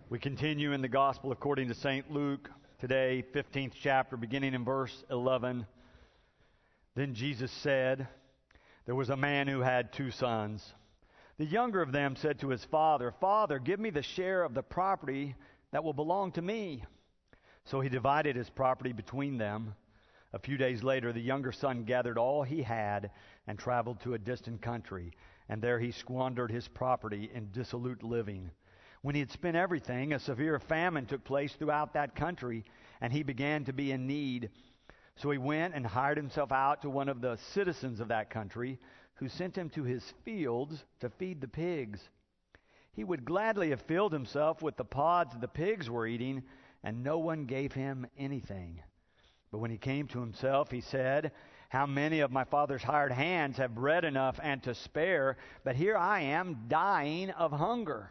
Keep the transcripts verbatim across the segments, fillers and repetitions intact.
We continue in the Gospel according to Saint Luke today, fifteenth chapter, beginning in verse eleven. Then Jesus said, "There was a man who had two sons. The younger of them said to his father, 'Father, give me the share of the property that will belong to me.' So he divided his property between them. A few days later, the younger son gathered all he had and traveled to a distant country, and there he squandered his property in dissolute living. When he had spent everything, a severe famine took place throughout that country, and he began to be in need. So he went and hired himself out to one of the citizens of that country, who sent him to his fields to feed the pigs. He would gladly have filled himself with the pods the pigs were eating, and no one gave him anything. But when he came to himself, he said, 'How many of my father's hired hands have bread enough and to spare, but here I am dying of hunger.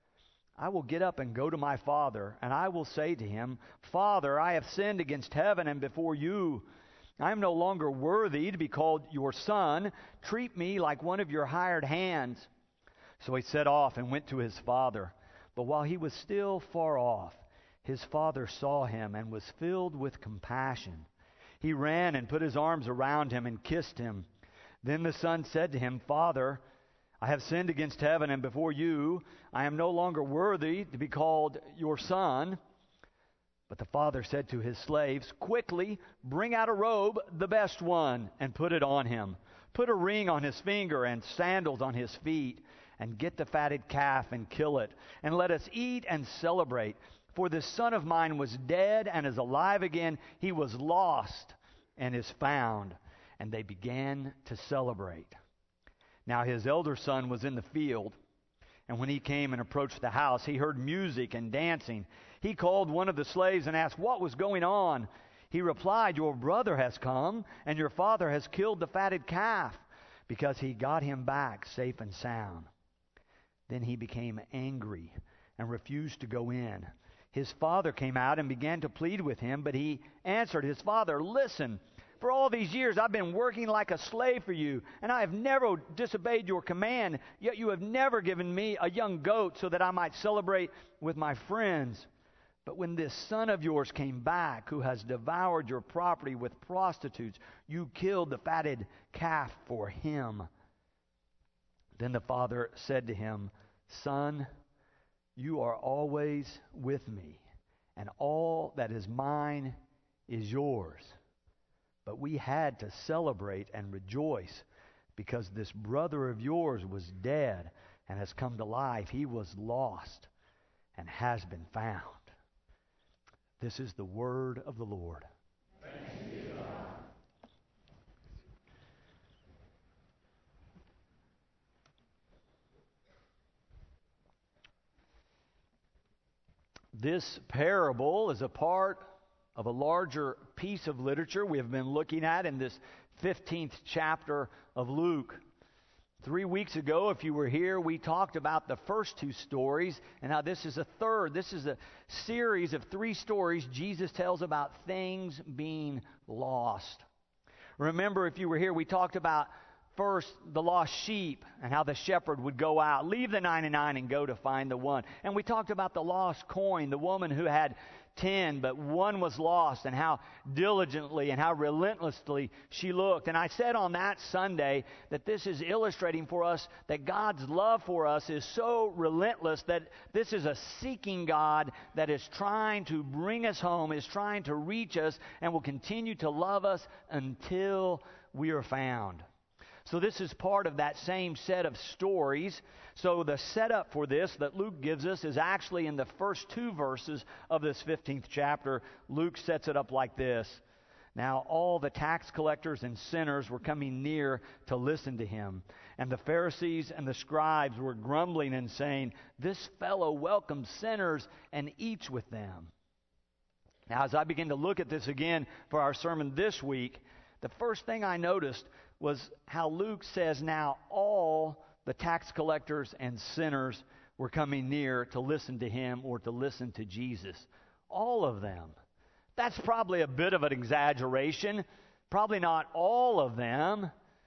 I will get up and go to my father, and I will say to him, Father, I have sinned against heaven and before you. I am no longer worthy to be called your son. Treat me like one of your hired hands.' So he set off and went to his father. But while he was still far off, his father saw him and was filled with compassion. He ran and put his arms around him and kissed him. Then the son said to him, 'Father, I have sinned against heaven and before you. I am no longer worthy to be called your son.' But the father said to his slaves, 'Quickly, bring out a robe, the best one, and put it on him. Put a ring on his finger and sandals on his feet, and get the fatted calf and kill it. And let us eat and celebrate. For this son of mine was dead and is alive again. He was lost and is found.' And they began to celebrate. Now his elder son was in the field, and when he came and approached the house, he heard music and dancing. He called one of the slaves and asked what was going on. He replied, 'Your brother has come, and your father has killed the fatted calf, because he got him back safe and sound.' Then he became angry and refused to go in. His father came out and began to plead with him, but he answered his father, 'Listen, for all these years I've been working like a slave for you, and I have never disobeyed your command, yet you have never given me a young goat so that I might celebrate with my friends. But when this son of yours came back, who has devoured your property with prostitutes, you killed the fatted calf for him.' Then the father said to him, 'Son, you are always with me, and all that is mine is yours. But we had to celebrate and rejoice, because this brother of yours was dead and has come to life. He was lost and has been found.'" This is the word of the Lord. Thanks be to God. This parable is a part of a larger piece of literature we have been looking at in this fifteenth chapter of Luke. Three weeks ago, if you were here, we talked about the first two stories, and now this is a third. This is a series of three stories Jesus tells about things being lost. Remember, if you were here, we talked about first the lost sheep and how the shepherd would go out, leave the ninety-nine and go to find the one. And we talked about the lost coin, the woman who had ten, but one was lost, and how diligently and how relentlessly she looked. And I said on that Sunday that this is illustrating for us that God's love for us is so relentless that this is a seeking God that is trying to bring us home, is trying to reach us, and will continue to love us until we are found. So this is part of that same set of stories. So the setup for this that Luke gives us is actually in the first two verses of this fifteenth chapter. Luke sets it up like this. Now all the tax collectors and sinners were coming near to listen to him. And the Pharisees and the scribes were grumbling and saying, "This fellow welcomes sinners and eats with them." Now as I begin to look at this again for our sermon this week, the first thing I noticed was how Luke says now all the tax collectors and sinners were coming near to listen to him or to listen to Jesus. All of them. That's probably a bit of an exaggeration. Probably not all of them.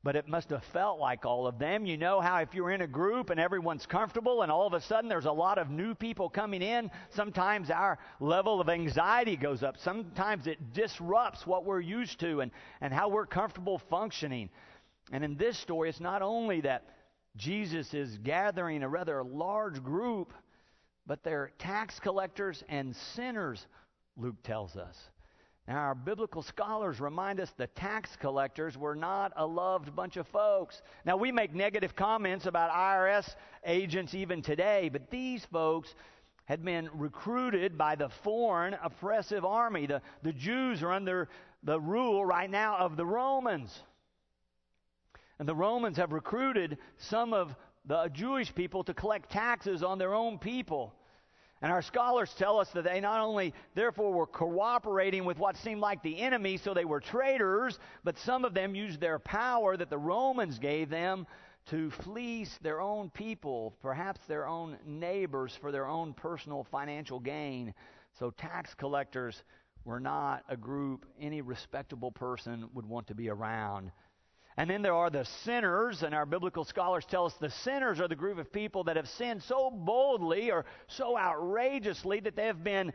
but it must have felt like all of them. You know how if you're in a group and everyone's comfortable and all of a sudden there's a lot of new people coming in, sometimes our level of anxiety goes up. Sometimes it disrupts what we're used to and, and how we're comfortable functioning. And in this story, it's not only that Jesus is gathering a rather large group, but they're tax collectors and sinners, Luke tells us. Now, our biblical scholars remind us the tax collectors were not a loved bunch of folks. Now, we make negative comments about I R S agents even today, but these folks had been recruited by the foreign oppressive army. The, the Jews are under the rule right now of the Romans. And the Romans have recruited some of the Jewish people to collect taxes on their own people. And our scholars tell us that they not only, therefore, were cooperating with what seemed like the enemy, so they were traitors, but some of them used their power that the Romans gave them to fleece their own people, perhaps their own neighbors, for their own personal financial gain. So tax collectors were not a group any respectable person would want to be around. And then there are the sinners, and our biblical scholars tell us the sinners are the group of people that have sinned so boldly or so outrageously that they have been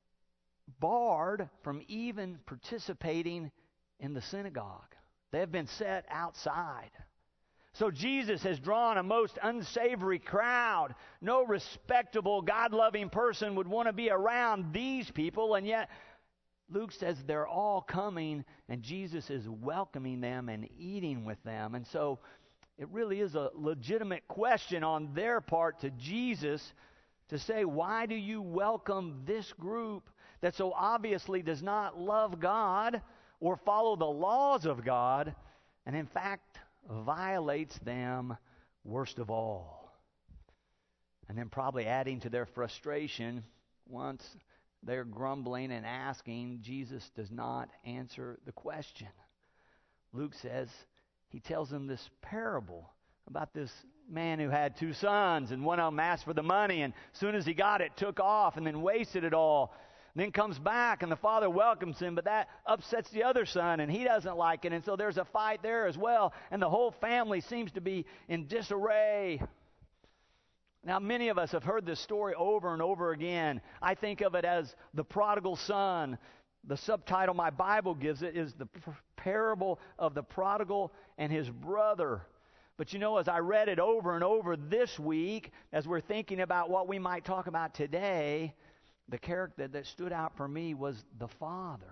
barred from even participating in the synagogue. They have been set outside. So Jesus has drawn a most unsavory crowd. No respectable, God-loving person would want to be around these people, and yet Luke says they're all coming, and Jesus is welcoming them and eating with them. And so it really is a legitimate question on their part to Jesus to say, why do you welcome this group that so obviously does not love God or follow the laws of God, and in fact violates them worst of all? And then probably adding to their frustration, once they're grumbling and asking, Jesus does not answer the question. Luke says, he tells them this parable about this man who had two sons, and one of them asked for the money, and as soon as he got it, took off and then wasted it all. And then comes back, and the father welcomes him, but that upsets the other son, and he doesn't like it, and so there's a fight there as well, and the whole family seems to be in disarray. Now, many of us have heard this story over and over again. I think of it as the prodigal son. The subtitle my Bible gives it is the parable of the prodigal and his brother. But you know, as I read it over and over this week, as we're thinking about what we might talk about today, the character that stood out for me was the father.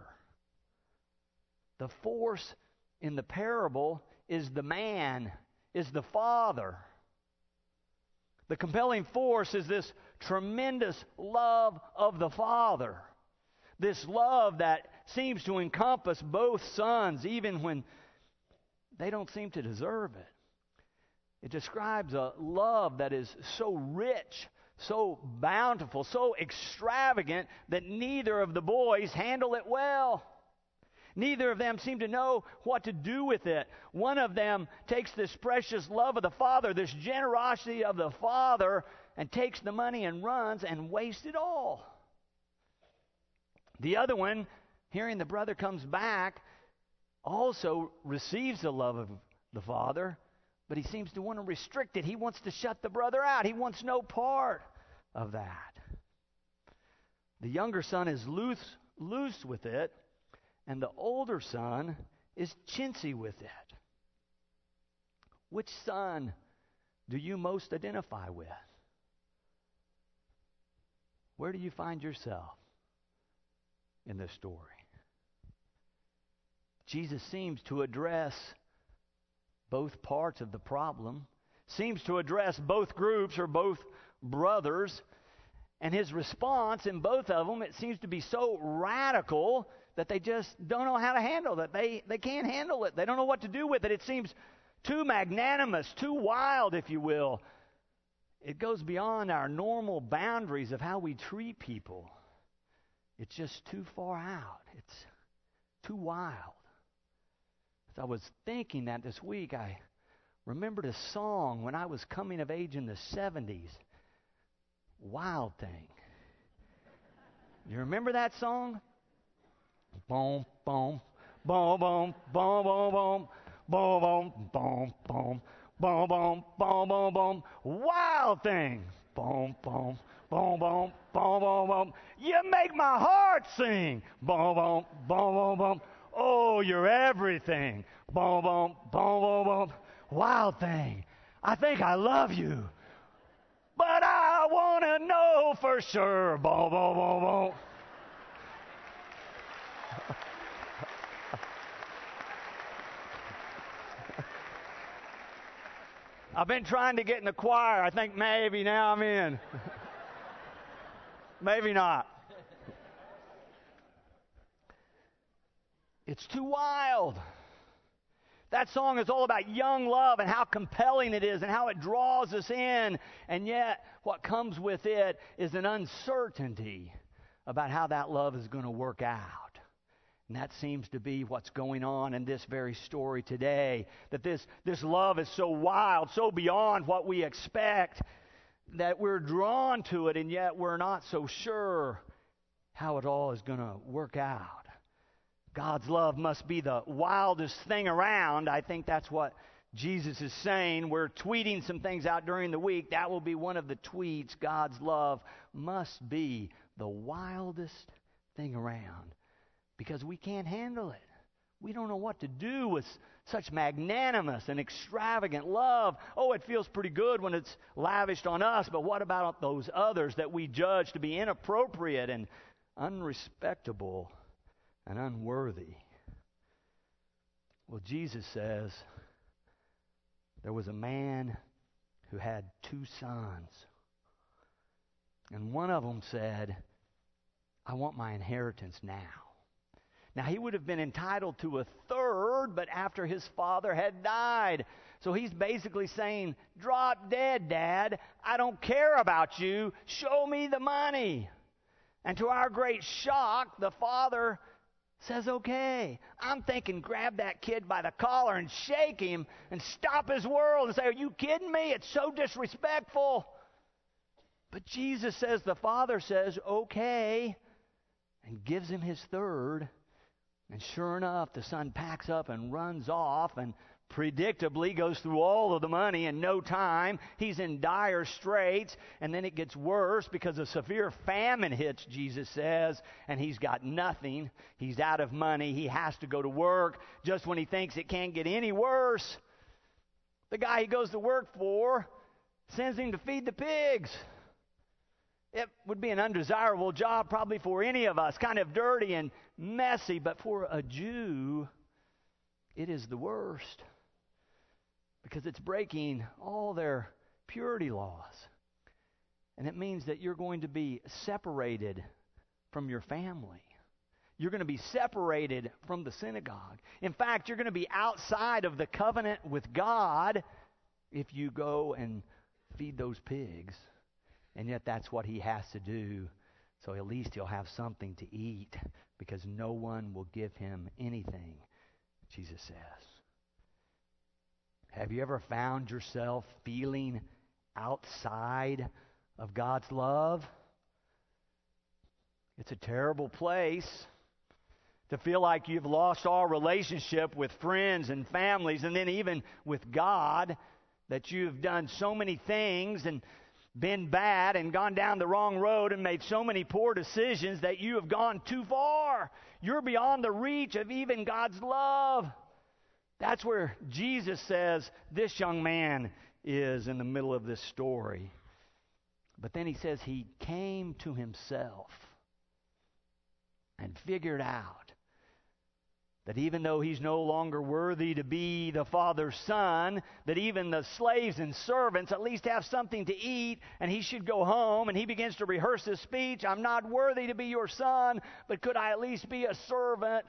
The force in the parable is the man, is the father. The compelling force is this tremendous love of the Father. This love that seems to encompass both sons, even when they don't seem to deserve it. It describes a love that is so rich, so bountiful, so extravagant that neither of the boys handle it well. Neither of them seem to know what to do with it. One of them takes this precious love of the Father, this generosity of the Father, and takes the money and runs and wastes it all. The other one, hearing the brother comes back, also receives the love of the Father, but he seems to want to restrict it. He wants to shut the brother out. He wants no part of that. The younger son is loose, loose with it, and the older son is chintzy with it. Which son do you most identify with? Where do you find yourself in this story? Jesus seems to address both parts of the problem, seems to address both groups or both brothers, and his response in both of them, it seems to be so radical that they just don't know how to handle it. They, they can't handle it. They don't know what to do with it. It seems too magnanimous, too wild, if you will. It goes beyond our normal boundaries of how we treat people. It's just too far out. It's too wild. As I was thinking that this week, I remembered a song when I was coming of age in the seventies. Wild Thing. You remember that song? Boom, boom, boom, boom, boom, boom, boom. boom, boom, boom, boom, boom, boom, boom, boom, boom. Wild thing. Boom, boom, boom, boom, boom, boom, boom. You make my heart sing. Boom, boom, boom, boom, boom. Oh, you're everything. Boom, boom, boom, boom, boom. Wild thing. I think I love you. But I want to know for sure. Boom, boom, boom, boom. I've been trying to get in the choir. I think maybe now I'm in. Maybe not. It's too wild. That song is all about young love and how compelling it is and how it draws us in. And yet, what comes with it is an uncertainty about how that love is going to work out. And that seems to be what's going on in this very story today. That this, this love is so wild, so beyond what we expect, that we're drawn to it, and yet we're not so sure how it all is going to work out. God's love must be the wildest thing around. I think that's what Jesus is saying. We're tweeting some things out during the week. That will be one of the tweets. God's love must be the wildest thing around. Because we can't handle it. We don't know what to do with such magnanimous and extravagant love. Oh, it feels pretty good when it's lavished on us, but what about those others that we judge to be inappropriate and unrespectable and unworthy? Well, Jesus says there was a man who had two sons. And one of them said, I want my inheritance now. Now, he would have been entitled to a third, but after his father had died. So he's basically saying, drop dead, Dad. I don't care about you. Show me the money. And to our great shock, the father says, okay. I'm thinking grab that kid by the collar and shake him and stop his world and say, are you kidding me? It's so disrespectful. But Jesus says, the father says, okay, and gives him his third. And sure enough, the son packs up and runs off and predictably goes through all of the money in no time. He's in dire straits, and then it gets worse because a severe famine hits, Jesus says, and he's got nothing. He's out of money. He has to go to work just when he thinks it can't get any worse. The guy he goes to work for sends him to feed the pigs. It would be an undesirable job probably for any of us, kind of dirty and messy, but for a Jew, it is the worst because it's breaking all their purity laws. And it means that you're going to be separated from your family. You're going to be separated from the synagogue. In fact, you're going to be outside of the covenant with God if you go and feed those pigs. And yet that's what he has to do. So at least he'll have something to eat because no one will give him anything, Jesus says. Have you ever found yourself feeling outside of God's love? It's a terrible place to feel like you've lost all relationship with friends and families and then even with God, that you've done so many things and been bad and gone down the wrong road and made so many poor decisions that you have gone too far. You're beyond the reach of even God's love. That's where Jesus says this young man is in the middle of this story. But then he says he came to himself and figured out that even though he's no longer worthy to be the father's son, that even the slaves and servants at least have something to eat, and he should go home, and he begins to rehearse his speech. I'm not worthy to be your son, but could I at least be a servant?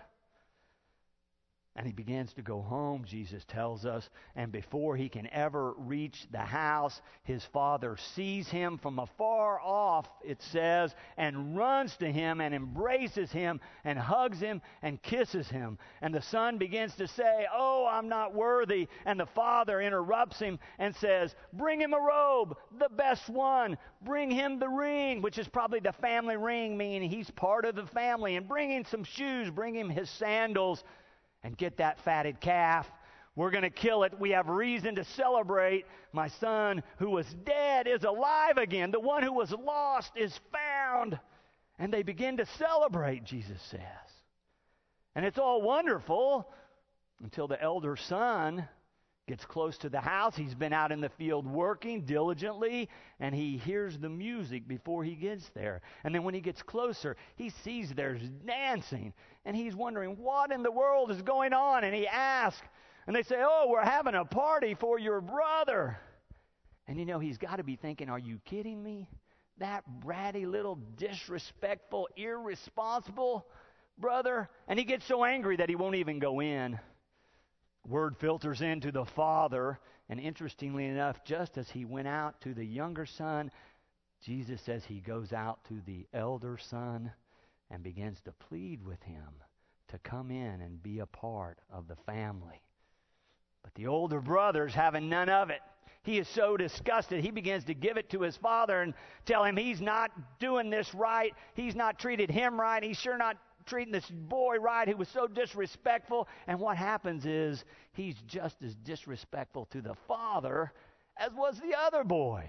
And he begins to go home, Jesus tells us, and before he can ever reach the house, his father sees him from afar off, it says, and runs to him and embraces him and hugs him and kisses him. And the son begins to say, oh, I'm not worthy. And the father interrupts him and says, bring him a robe, the best one. Bring him the ring, which is probably the family ring, meaning he's part of the family. And bring him some shoes, bring him his sandals. And get that fatted calf We're going to kill it. We have reason to celebrate. My son who was dead is alive again. The one who was lost is found. And they begin to celebrate, Jesus says. And it's all wonderful until the elder son gets close to the house. He's been out in the field working diligently, and he hears the music before he gets there. And then when he gets closer, he sees there's dancing, and he's wondering, what in the world is going on? And he asks, and they say, oh, we're having a party for your brother. And you know, he's got to be thinking, are you kidding me? That bratty little disrespectful, irresponsible brother? And he gets so angry that he won't even go in. Word filters into the father, and interestingly enough, just as he went out to the younger son, Jesus says he goes out to the elder son and begins to plead with him to come in and be a part of the family. But the older brother's having none of it. He is so disgusted, he begins to give it to his father and tell him he's not doing this right. He's not treated him right. He's sure not treating this boy right who was so disrespectful. And what happens is he's just as disrespectful to the father as was the other boy.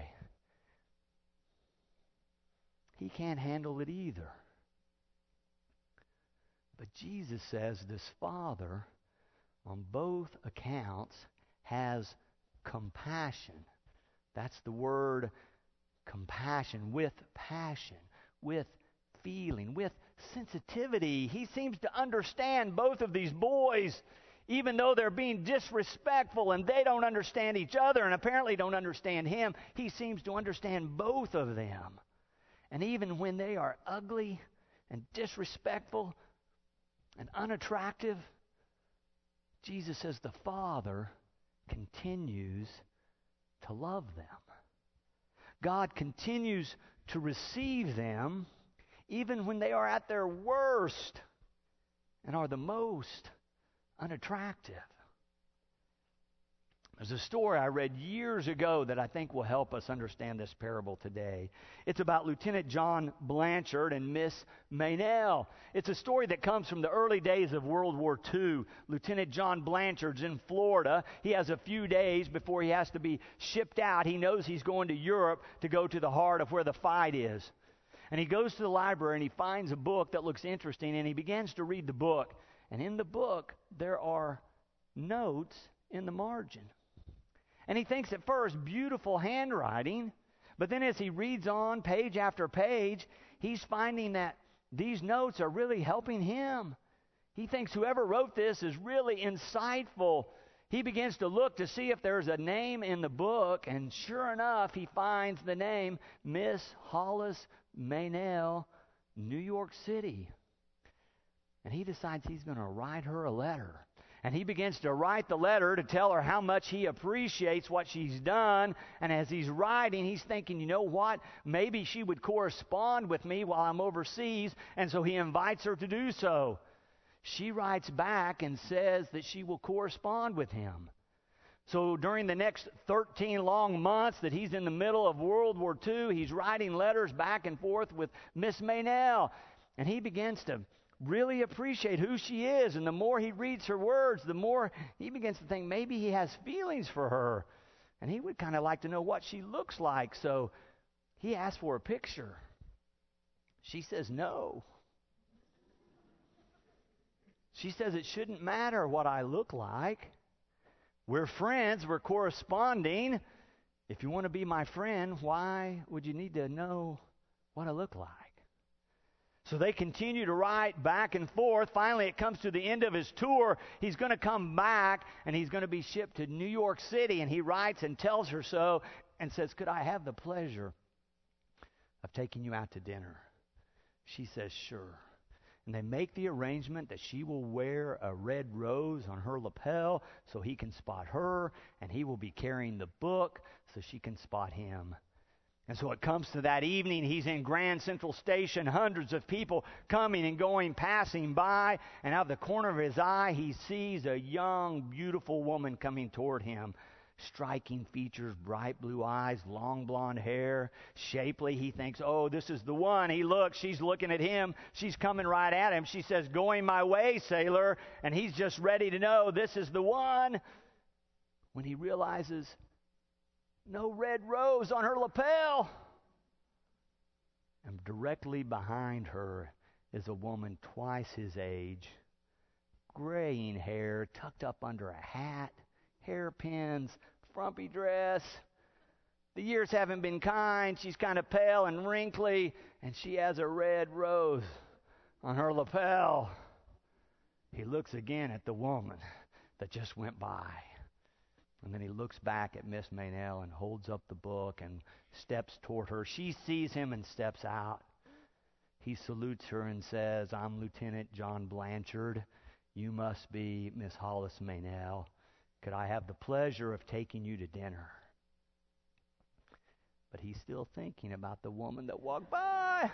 He can't handle it either. But Jesus says this father, on both accounts, has compassion. That's the word compassion, with passion, with feeling, with sensitivity. He seems to understand both of these boys, even though they're being disrespectful and they don't understand each other and apparently don't understand him. He seems to understand both of them. And even when they are ugly and disrespectful and unattractive, Jesus says the Father continues to love them. God continues to receive them even when they are at their worst and are the most unattractive. There's a story I read years ago that I think will help us understand this parable today. It's about Lieutenant John Blanchard and Miss Maynell. It's a story that comes from the early days of World War Two. Lieutenant John Blanchard's in Florida. He has a few days before he has to be shipped out. He knows he's going to Europe to go to the heart of where the fight is. And he goes to the library and he finds a book that looks interesting, and he begins to read the book. And in the book, there are notes in the margin. And he thinks at first, beautiful handwriting. But then as he reads on page after page, he's finding that these notes are really helping him. He thinks whoever wrote this is really insightful. He begins to look to see if there's a name in the book, and sure enough, he finds the name Miss Hollis Maynell, New York City. And he decides he's going to write her a letter. And he begins to write the letter to tell her how much he appreciates what she's done. And as he's writing, he's thinking, you know what? Maybe she would correspond with me while I'm overseas. And so he invites her to do so. She writes back and says that she will correspond with him. So during the next thirteen long months that he's in the middle of World War Two, he's writing letters back and forth with Miss Maynell. And he begins to really appreciate who she is. And the more he reads her words, the more he begins to think maybe he has feelings for her. And he would kind of like to know what she looks like. So he asks for a picture. She says no. She says it shouldn't matter what I look like. We're friends. We're corresponding. If you want to be my friend, why would you need to know what I look like? So they continue to write back and forth. Finally, it comes to the end of his tour. He's going to come back, and he's going to be shipped to New York City. And he writes and tells her so and says, could I have the pleasure of taking you out to dinner? She says, sure. And they make the arrangement that she will wear a red rose on her lapel so he can spot her, and he will be carrying the book so she can spot him. And so it comes to that evening. He's in Grand Central Station, hundreds of people coming and going, passing by. And out of the corner of his eye, he sees a young, beautiful woman coming toward him. Striking features, bright blue eyes, long blonde hair, shapely. He thinks, oh, this is the one. He looks, she's looking at him. She's coming right at him. She says, going my way, sailor. And he's just ready to know this is the one. when he realizes no red rose on her lapel. And directly behind her is a woman twice his age, graying hair tucked up under a hat, hairpins, frumpy dress. The years haven't been kind. She's kind of pale and wrinkly, and she has a red rose on her lapel. He looks again at the woman that just went by. And then he looks back at Miss Maynell and holds up the book and steps toward her. She sees him and steps out. He salutes her and says, "I'm Lieutenant John Blanchard. You must be Miss Hollis Maynell. Could I have the pleasure of taking you to dinner?" But he's still thinking about the woman that walked by.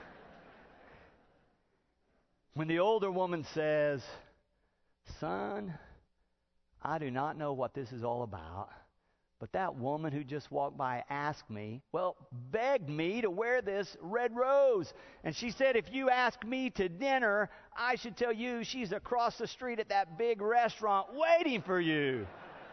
When the older woman says, "Son, I do not know what this is all about, but that woman who just walked by asked me, well, begged me to wear this red rose. And she said, if you ask me to dinner, I should tell you she's across the street at that big restaurant waiting for you."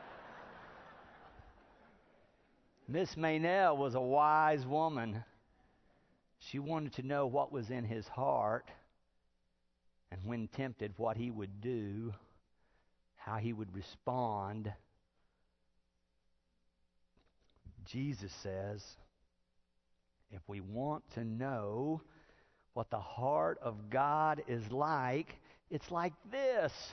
Miss Maynell was a wise woman. She wanted to know what was in his heart, and when tempted, what he would do, how he would respond. Jesus says, if we want to know what the heart of God is like, it's like this.